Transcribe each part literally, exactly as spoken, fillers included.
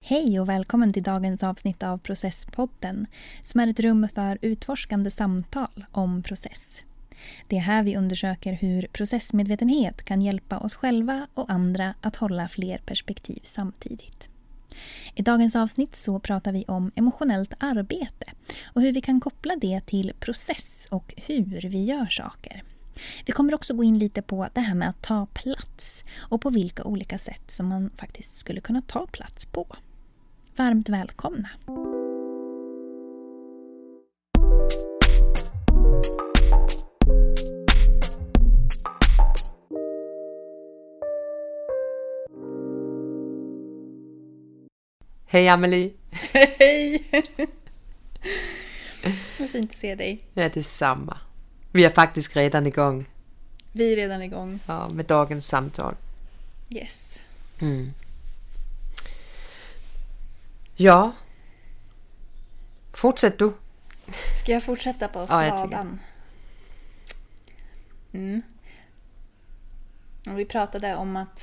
Hej och välkommen till dagens avsnitt av Processpodden som är ett rum för utforskande samtal om process. Det är här vi undersöker hur processmedvetenhet kan hjälpa oss själva och andra att hålla fler perspektiv samtidigt. I dagens avsnitt så pratar vi om emotionellt arbete och hur vi kan koppla det till process och hur vi gör saker. Vi kommer också gå in lite på det här med att ta plats och på vilka olika sätt som man faktiskt skulle kunna ta plats på. Varmt välkomna! Hej Amelie! Hej! Vad fint att se dig. Ja, det är samma. Vi är faktiskt redan igång. Vi är redan igång. Ja, med dagens samtal. Yes. Mm. Ja. Fortsätt du. Ska jag fortsätta på Ja, sadan? Mm. Och vi pratade om att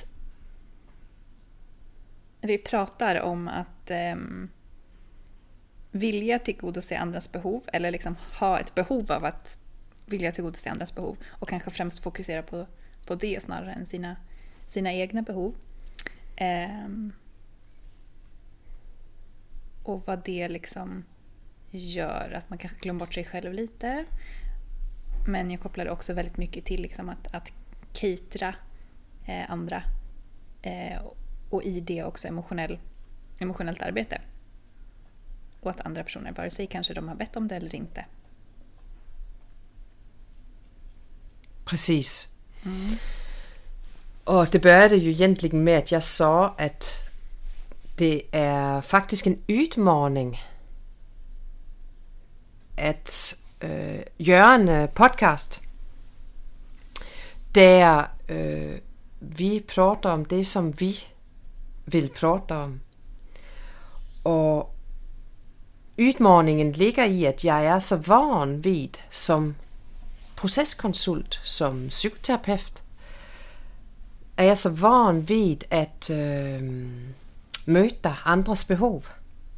vi pratar om att um, vilja tillgodose andras behov eller liksom ha ett behov av att vilja tillgodose andras behov och kanske främst fokusera på, på det snarare än sina, sina egna behov. Um, och vad det liksom gör att man kanske glömmer bort sig själv lite. Men jag kopplade också väldigt mycket till liksom att, att catera eh, andra eh, och i det också emotionell, emotionellt arbete. Och att andra personer, vare sig kanske de har bett om det eller inte. Precis. Mm. Och det började ju egentligen med att jag sa att det är faktiskt en utmaning att øh, göra en podcast där øh, vi pratar om det som vi vill prata om. Och utmaningen ligger i att jag är så van vid som processkonsult, som psykoterapeut, är jag så van vid att øh, möta andras behov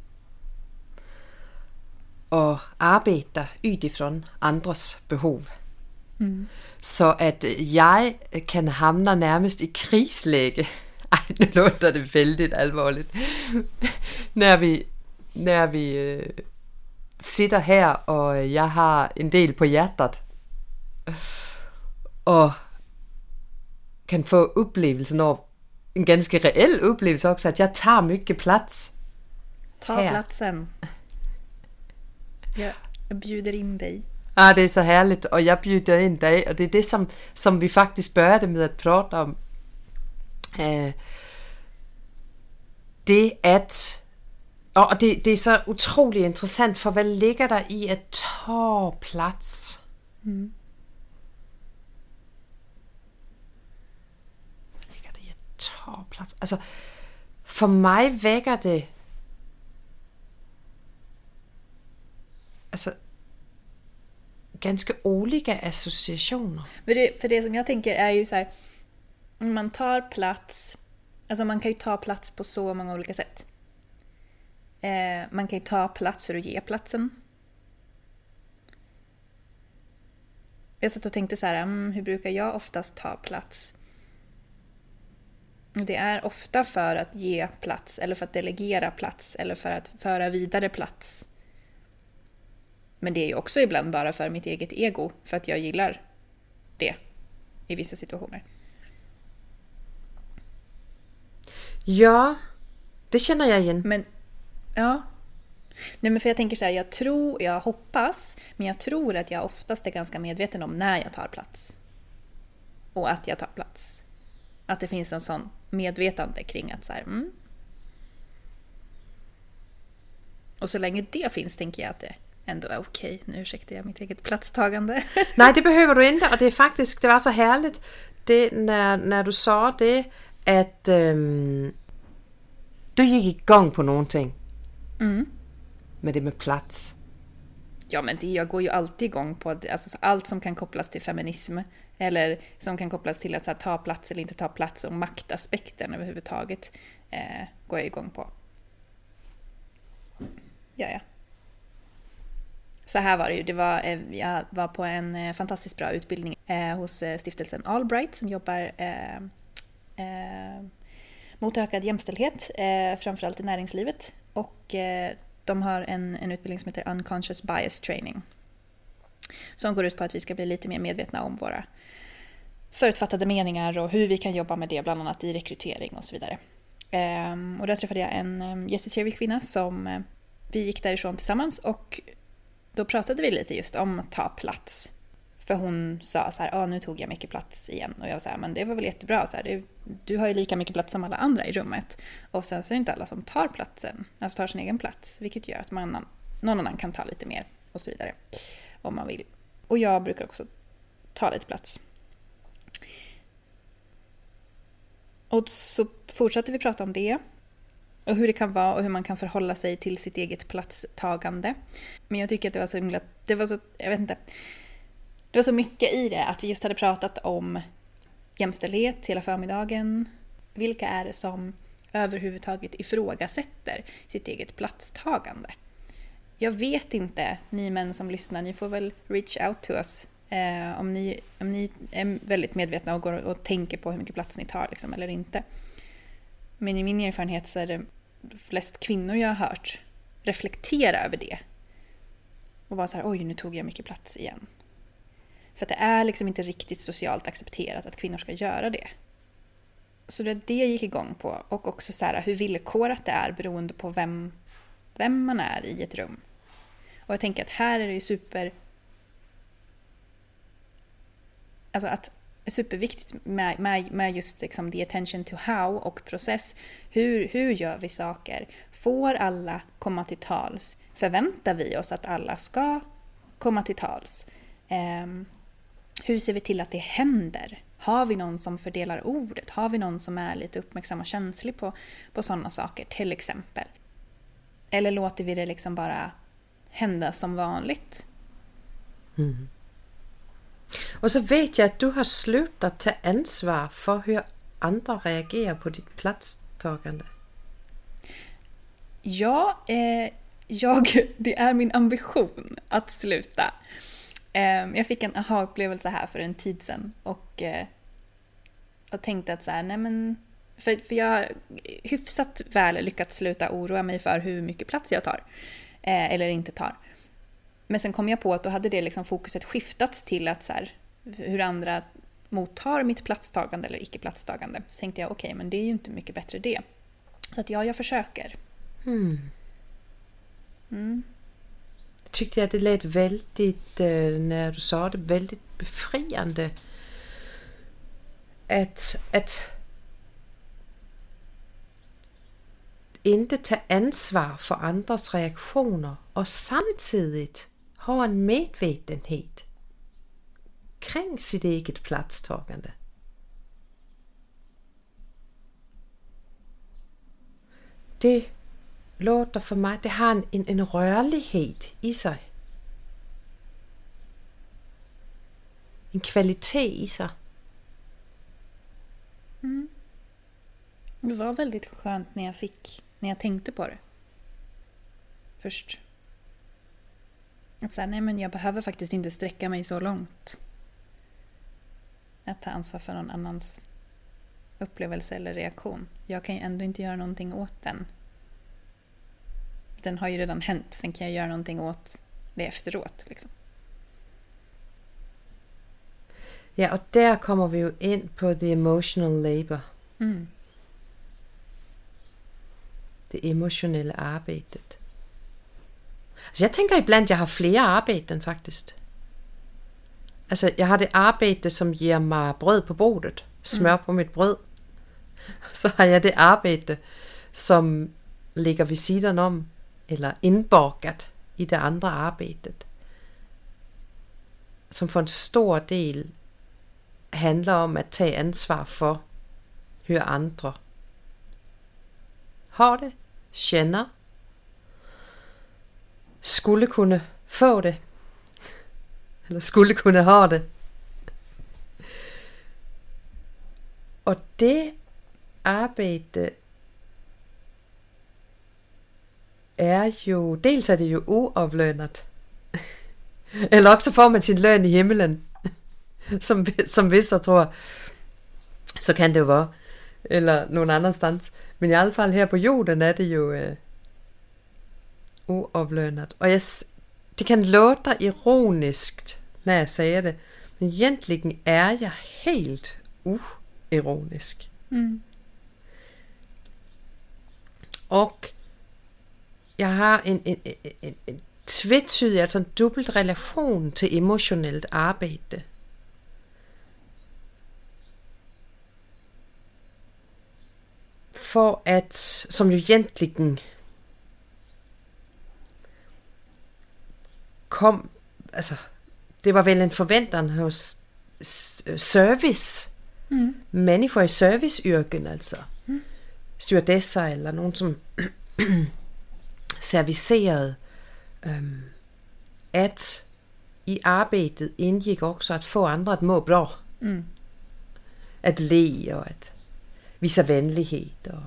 och arbeta utifrån andras behov. Mm. Så att jag kan hamna närmast i krisläge. Ej, nu låter det väldigt allvarligt. när vi, när vi øh, sitter här och jag har en del på hjärtat och kan få upplevelsen av en ganska reell upplevelse också, att jag tar mycket plats. Ta här. platsen. Jag, jag bjuder in dig. Ja, det är så härligt och jag bjuder in dig och det är det som, som vi faktiskt började med att prata om. Eh, det att och det, det är så otroligt intressant, för vad ligger där i att ta plats? Mm. Vad ligger det i att ta plats? Alltså, för mig väcker det alltså ganska olika associationer. För det, för det som jag tänker är ju så här, man tar plats, alltså man kan ju ta plats på så många olika sätt. Eh, man kan ju ta plats för att ge platsen. Jag satt och tänkte så här, mm, hur brukar jag oftast ta plats? Och det är ofta för att ge plats, eller för att delegera plats, eller för att föra vidare plats. Men det är ju också ibland bara för mitt eget ego, för att jag gillar det i vissa situationer. Ja, det känner jag igen. Men, ja. Nej, men för jag tänker så här, jag tror, jag hoppas, men jag tror att jag oftast är ganska medveten om när jag tar plats. Och att jag tar plats. Att det finns en sån medvetande kring att så här, mm. Och så länge det finns tänker jag att det ändå är okej. Nu ursäktar jag mitt eget platstagande. Nej, det behöver du inte. Och det är faktiskt, det var så härligt det, när, när du sa det, att um, du gick igång på någonting. Mm. Med det med plats. Ja, men det, jag går ju alltid igång på alltså, allt som kan kopplas till feminism. Eller som kan kopplas till att så här, ta plats eller inte ta plats. Och maktaspekten överhuvudtaget eh, går jag igång på. Ja, ja. Så här var det ju. Det var, jag var på en fantastiskt bra utbildning eh, hos stiftelsen Allbright som jobbar eh, eh, mot ökad jämställdhet, eh, framförallt i näringslivet. Och eh, de har en, en utbildning som heter Unconscious Bias Training. Som går ut på att vi ska bli lite mer medvetna om våra förutfattade meningar och hur vi kan jobba med det, bland annat i rekrytering och så vidare. Eh, och där träffade jag en eh, jättetrevlig kvinna som eh, vi gick därifrån tillsammans, och då pratade vi lite just om att ta plats. För hon sa så här, ah, nu tog jag mycket plats igen. Och jag sa, men det var väl jättebra. Så här, det, du har ju lika mycket plats som alla andra i rummet. Och sen så är det inte alla som tar platsen. Alltså tar sin egen plats. Vilket gör att man, någon annan kan ta lite mer och så vidare. Om man vill. Och jag brukar också ta lite plats. Och så fortsatte vi prata om det. Och hur det kan vara och hur man kan förhålla sig till sitt eget platstagande. Men jag tycker att det var så himla, det var så, jag vet inte. Det var så mycket i det, att vi just hade pratat om jämställdhet hela förmiddagen. Vilka är det som överhuvudtaget ifrågasätter sitt eget platstagande? Jag vet inte, ni män som lyssnar, ni får väl reach out to us. Eh, om, ni, om ni är väldigt medvetna och går och tänker på hur mycket plats ni tar liksom, eller inte. Men i min erfarenhet så är det flest kvinnor jag har hört reflektera över det. Och vara så här, oj, nu tog jag mycket plats igen. För att det är liksom inte riktigt socialt accepterat att kvinnor ska göra det. Så det, det gick igång på. Och också så här, hur villkorat det är beroende på vem, vem man är i ett rum. Och jag tänker att här är det ju super... Alltså att superviktigt med, med, med just liksom the attention to how och process. Hur, hur gör vi saker? Får alla komma till tals? Förväntar vi oss att alla ska komma till tals? Um, hur ser vi till att det händer? Har vi någon som fördelar ordet? Har vi någon som är lite uppmärksam och känslig på, på sådana saker till exempel? Eller låter vi det liksom bara hända som vanligt? Mm. Och så vet jag att du har slutat ta ansvar för hur andra reagerar på ditt platstagande. Ja, eh, jag, det är min ambition att sluta. Eh, jag fick en aha-upplevelse här för en tid sedan och, eh, och tänkte att så här, nej men, för, för jag har hyfsat väl lyckats sluta oroa mig för hur mycket plats jag tar eh, eller inte tar. Men sen kom jag på att då hade det liksom fokuset skiftats till att så här, hur andra mottar mitt platstagande eller icke-platstagande. Så tänkte jag, okej, okay, men det är ju inte mycket bättre det. Så att ja, jag försöker. Mm. Mm. Jag tyckte att det lät väldigt, när du sa det, väldigt befriande att, att inte ta ansvar för andras reaktioner och samtidigt ha en medvetenhet kring sitt eget platstagande. Det låter för mig, det har en, en, en rörlighet i sig. En kvalitet i sig. Mm. Det var väldigt skönt när jag fick, när jag tänkte på det. Först. Att säga, nej men jag behöver faktiskt inte sträcka mig så långt. Att ta ansvar för någon annans upplevelse eller reaktion. Jag kan ju ändå inte göra någonting åt den. Den har ju redan hänt. Sen kan jag göra någonting åt det efteråt. Liksom. Ja, och där kommer vi ju in på the emotional labor. Mm. Det emotionella arbetet. Alltså jag tänker ibland att jag har flera arbeten faktiskt. Alltså jag har det arbete som ger mig bröd på bordet. Smör mm. på mitt bröd. Så har jag det arbete som ligger vid sidan om. Eller inbakat i det andra arbetet. Som för en stor del handlar om att ta ansvar för hur andra har det, känner, skulle kunna få det, eller skulle kunna ha det. Och det arbete är ju, dels är det ju oavlönat. Eller också får man sin lön i himmelen. Som, som vissa tror. Så kan det ju vara. Eller någon annanstans. Men i alla fall här på jorden är det ju eh, oavlönat. Och jag, det kan låta ironiskt när jag säger det. Men egentligen är jag helt oironisk. Mm. Och jag har en, en, en, en, en tvetydig, alltså en dubbelt relation till emotionellt arbete. För att, som ju egentligen kom, alltså det var väl en förväntan hos service, Mm. människor i serviceyrken, alltså Mm. stewardesser eller någon som servicerade, um, att i arbetet ingick också att få andra att må bra. Mm. Att le och att visa vänlighet. Och,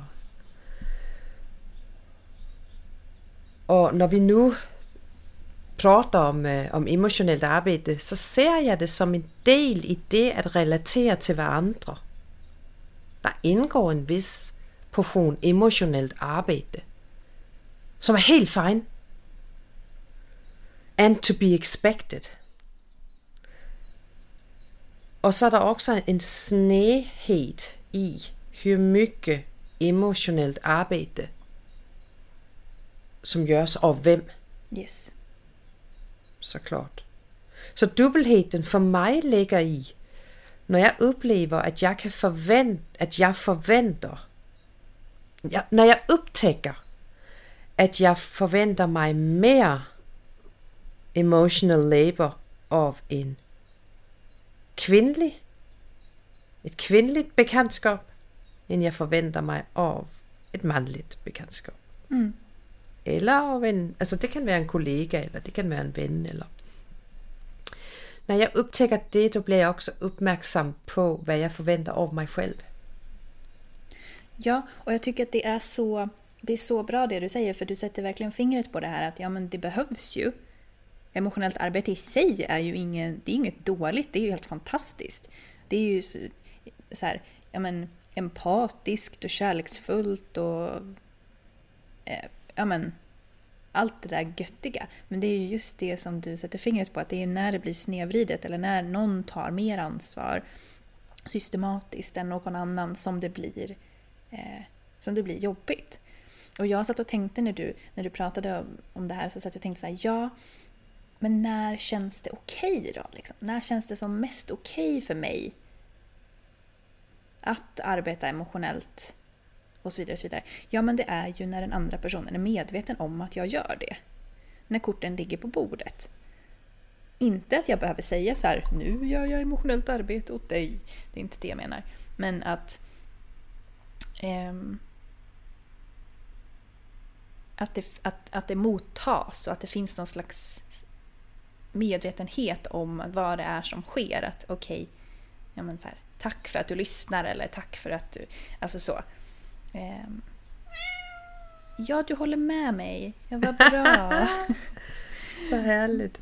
och när vi nu pratar om, uh, om emotionellt arbete, så ser jag det som en del i det att relatera till varandra. Der indgår en vis portion emotionellt arbete, som är helt fine. And to be expected. Och så är det också en snedhet i hur mycket emotionellt arbete som görs av vem. Yes. Såklart. Så dubbelheten för mig ligger i, när jag upplever att jag kan förvänta, att jag förväntar, ja, när jag upptäcker att jag förväntar mig mer emotional labor av en kvinnlig, ett kvinnligt bekantskap, än jag förväntar mig av ett manligt bekantskap. Mm. Eller av en, alltså det kan vara en kollega, eller det kan vara en vän, eller när jag upptäcker det, då blir jag också uppmärksam på vad jag förväntar av mig själv. Ja, och jag tycker att det är så det är så bra det du säger, för du sätter verkligen fingret på det här att ja, men det behövs ju. Emotionellt arbete i sig är ju ingen, det är inget dåligt, det är ju helt fantastiskt. Det är ju så, så här, ja men empatiskt och kärleksfullt och eh, ja men allt det där göttiga. Men det är ju just det som du sätter fingret på, att det är när det blir snedvridet eller när någon tar mer ansvar systematiskt än någon annan som det blir eh, som det blir jobbigt. Och jag satt och tänkte när du, när du pratade om, om det här, så satt jag och tänkte så här, ja, men när känns det okej då? Liksom? När känns det som mest okej för mig att arbeta emotionellt och så vidare och så vidare? Ja, men det är ju när den andra personen är medveten om att jag gör det. När korten ligger på bordet. Inte att jag behöver säga så här, nu gör jag emotionellt arbete åt dig. Det är inte det jag menar. Men att ehm, att, det, att, att det mottas och att det finns någon slags medvetenhet om vad det är som sker. Att okej, okay, ja men så här, tack för att du lyssnar, eller tack för att du, alltså så. Ehm, ja, du håller med mig. Jag var bra. Så härligt.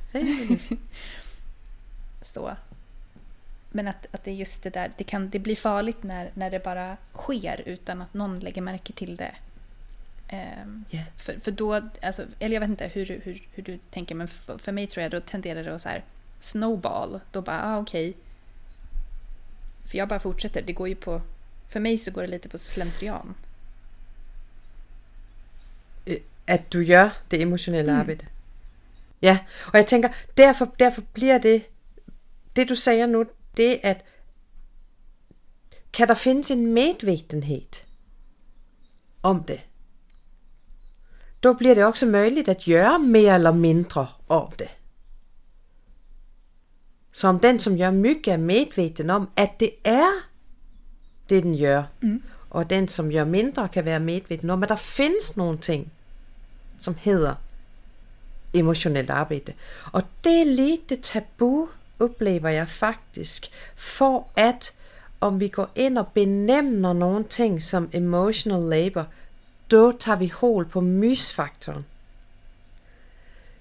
Så. Men att, att det är just det där, det, kan, det blir farligt när, när det bara sker utan att någon lägger märke till det. Um, yeah. för, för då, alltså, eller jag vet inte hur, hur, hur du tänker, men för, för mig tror jag då tenderar det att så här snowball. Då bara, ah, okej. Okay. För jag bara fortsätter. Det går ju på, för mig så går det lite på slentrian. Att du gör det emotionella mm. arbetet. Ja, och jag tänker, därför, därför blir det, det du säger nu, det är att kan der findes en medvetenhet om det, då blir det också möjligt att göra mer eller mindre av det. Så om den som gör mycket är medveten om att det är det den gör, mm. och den som gör mindre kan vara medveten om att det finns någonting som heter emotionellt arbete. Och det är lite tabu, upplever jag faktiskt, för att om vi går in och benämner någonting som emotional labor, då tar vi hål på mysfaktorn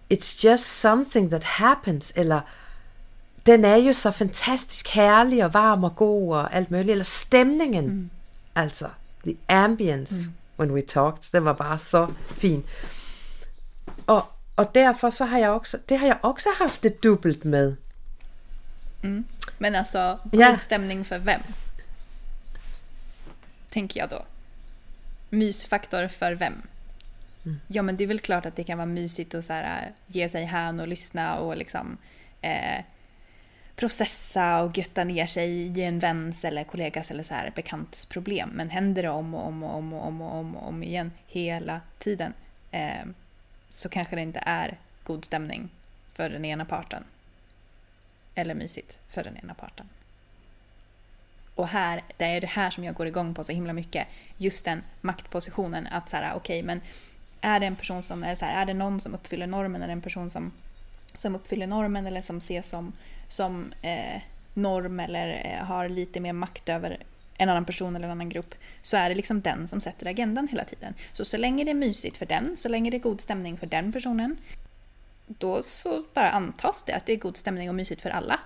it's just something that happens, eller den är ju så fantastisk härlig och varm och god och allt möjligt, eller stämningen, mm. alltså the ambience mm. when we talked, det var bara så fin. Och, och därför så har jag också, det har jag också haft det dubbelt med. Mm. Men alltså, god ja. stämning för vem? Tänker jag då. Mysfaktor för vem? Mm. Ja, men det är väl klart att det kan vara mysigt att så här, ge sig hän och lyssna och liksom eh, processa och götta ner sig i en väns eller kollegas eller så här bekants problem. Men händer det om och om och om och om och om, och om igen hela tiden, eh, så kanske det inte är god stämning för den ena parten. Eller mysigt för den ena parten. Och här, det är det här som jag går igång på så himla mycket. Just den maktpositionen. Att så här, okej, okay, men är det en person som är så här, är det någon som uppfyller normen, eller en person som, som uppfyller normen eller som ses som, som eh, norm eller eh, har lite mer makt över en annan person eller en annan grupp, så är det liksom den som sätter agendan hela tiden. Så så länge det är mysigt för den, så länge det är god stämning för den personen, då så bara antas det att det är god stämning och mysigt för alla.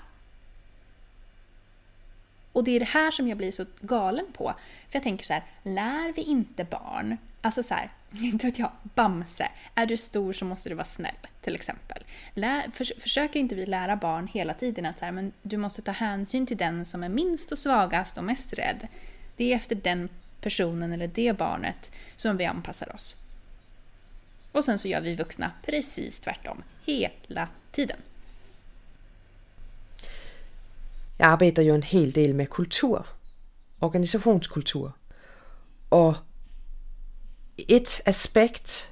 Och det är det här som jag blir så galen på. För jag tänker så här, lär vi inte barn, alltså så här, inte vet jag, Bamse, är du stor så måste du vara snäll, till exempel. Lär, för, försöker inte vi lära barn hela tiden att så här, men du måste ta hänsyn till den som är minst och svagast och mest rädd. Det är efter den personen eller det barnet som vi anpassar oss. Och sen så gör vi vuxna precis tvärtom hela tiden. Jag arbetar ju en hel del med kultur, organisationskultur. Och ett aspekt,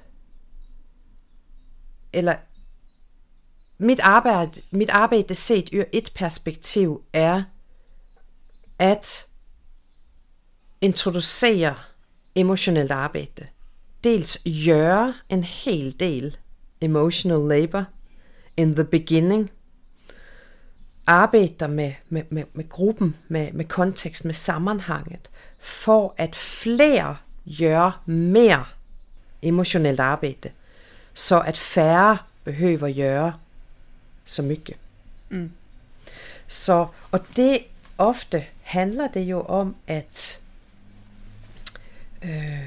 eller mitt arbete, mitt arbete sett ur ett perspektiv är att introducera emotionellt arbete. Dels göra en hel del emotional labor in the beginning. Arbeta med, med, med, med gruppen, med, med kontekst, med sammanhanget. För att fler gör mer emotionellt arbete. Så att färre behöver göra så mycket. Mm. Så, och det ofta handlar det ju om att äh,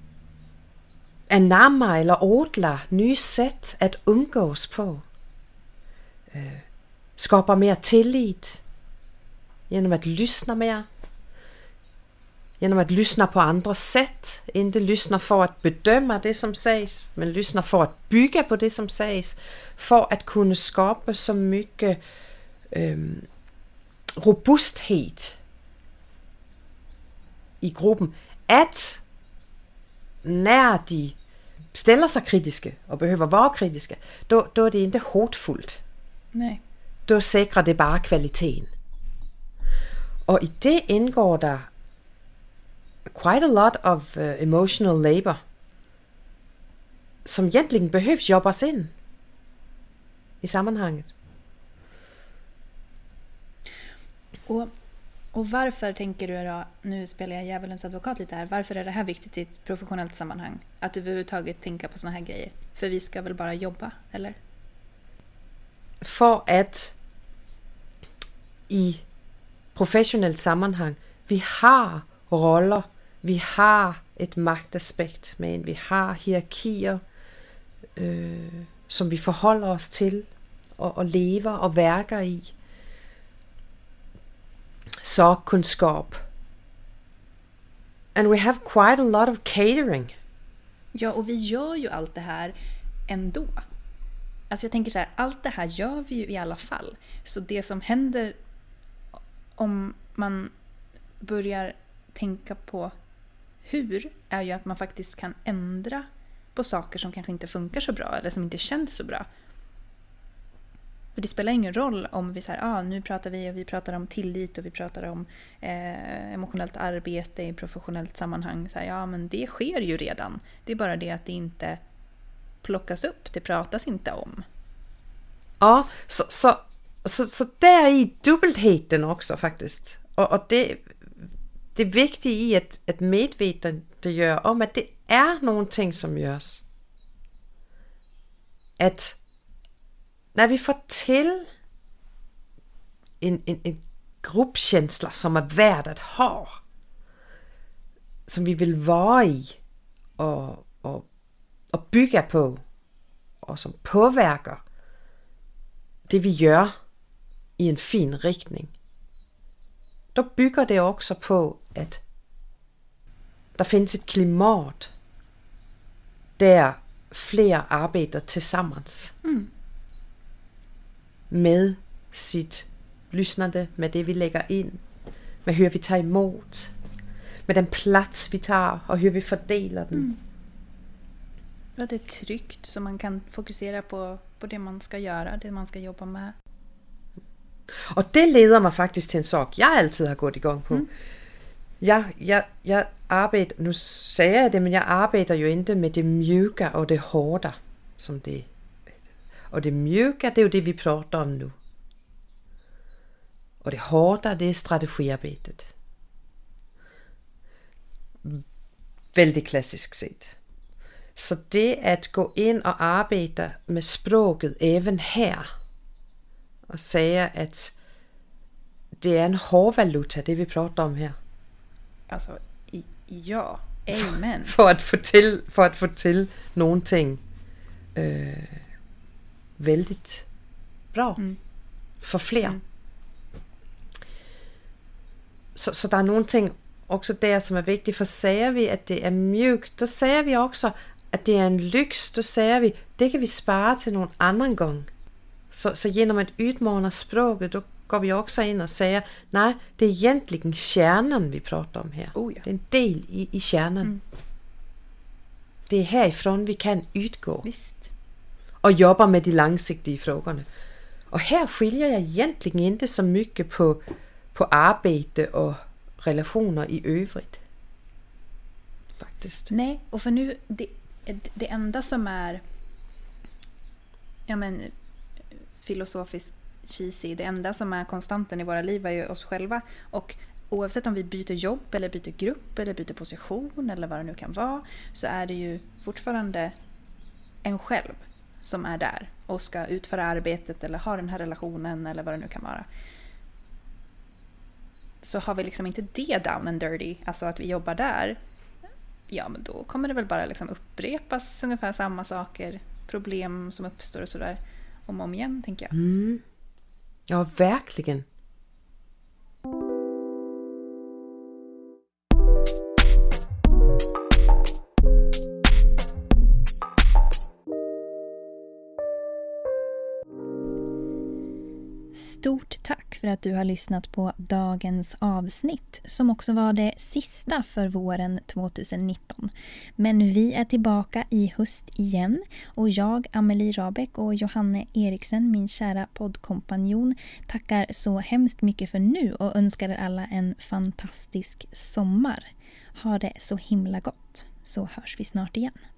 anamma eller odla nya sätt att umgås på. Äh, skapa mer tillit genom att lyssna mer. Genom att lyssna på andra sätt. Inte lyssna för att bedöma det som sägs, men lyssna för att bygga på det som sägs. För att kunna skapa så mycket um, robusthet i gruppen. Att när de ställer sig kritiska och behöver vara kritiska, då, då är det inte hotfullt. Nej. Då säkrar det bara kvaliteten. Och i det ingår där quite a lot of uh, emotional labor som egentligen behövs jobbas in i sammanhanget. Och, och varför tänker du då, nu spelar jag djävulens advokat lite här, varför är det här viktigt i ett professionellt sammanhang? Att överhuvudtaget tänka på såna här grejer? För vi ska väl bara jobba, eller? För att i professionellt sammanhang vi har roller, vi har ett maktaspekt med, vi har hierarkier øh, som vi förhåller oss till och, och lever och verkar i. Sakkunskap. And we have quite a lot of catering. Ja, och vi gör ju allt det här ändå. Alltså jag tänker så här, allt det här gör vi ju i alla fall. Så det som händer om man börjar tänka på hur är ju att man faktiskt kan ändra på saker som kanske inte funkar så bra eller som inte känns så bra. För det spelar ingen roll om vi säger, ah, nu pratar vi och vi pratar om tillit och vi pratar om eh, emotionellt arbete i professionellt sammanhang. Så här, ja, men det sker ju redan. Det är bara det att det inte plockas upp, det pratas inte om. Ja, så, så, så, så där är dubbelheten också faktiskt. Och, och det, det är viktigt i ett, ett medvetandegör om att det är någonting som görs. Att när vi får till en, en, en gruppkänsla som är värd att ha, som vi vill vara i och, och, och bygga på, och som påverkar det vi gör i en fin riktning, då bygger det också på att der finns ett klimat där fler arbetar tillsammans mm. med sitt lyssnande, med det vi lägger in, med hur vi tar emot, med den plats vi tar och hur vi fördelar den. Mm. Ja, det är tryggt så man kan fokusera på, på det man ska göra, det man ska jobba med. Och det leder mig faktiskt till en sak jag alltid har gått igång på. Mm. Jag, jag, jag arbetar, nu säger jag det, men jag arbetar ju inte med det mjuka och det hårda. Som det, och det mjuka, det är ju det vi pratar om nu. Och det hårda, det är strategiarbetet. Väldigt klassiskt sett. Så det att gå in och arbeta med språket även här och säga att det är en hårdvaluta, det vi pratar om här. Alltså, i, ja, amen. För att få till, för att få till någonting øh, väldigt bra mm. för fler. Mm. Så, så der er någonting också där som är viktigt, för säger vi att det är mjukt, då säger vi också att det är en lyx, då säger vi, det kan vi spara till någon annan gång. Så, så genom att utmana språket, då går vi också in och säger, nej, det är egentligen kärnan vi pratar om här. Oh ja. Det är en del i, i kärnan. Mm. Det är härifrån vi kan utgå. Visst. Och jobba med de långsiktiga frågorna. Och här skiljer jag egentligen inte så mycket på, på arbete och relationer i övrigt. Faktiskt. Nej, och för nu, det, det enda som är ja men filosofiskt cheesy, det enda som är konstanten i våra liv är ju oss själva, och oavsett om vi byter jobb eller byter grupp eller byter position eller vad det nu kan vara, så är det ju fortfarande en själv som är där och ska utföra arbetet eller ha den här relationen eller vad det nu kan vara. Så har vi liksom inte det down and dirty, alltså att vi jobbar där, ja men då kommer det väl bara liksom upprepas ungefär samma saker, problem som uppstår och sådär om och om igen, tänker jag. Mm. Ja, verkligen. Stort tack för att du har lyssnat på dagens avsnitt, som också var det sista för våren tjugonitton. Men vi är tillbaka i höst igen, och jag, Amelie Rabeck, och Johanne Eriksen, min kära poddkompanjon, tackar så hemskt mycket för nu och önskar er alla en fantastisk sommar. Ha det så himla gott, så hörs vi snart igen.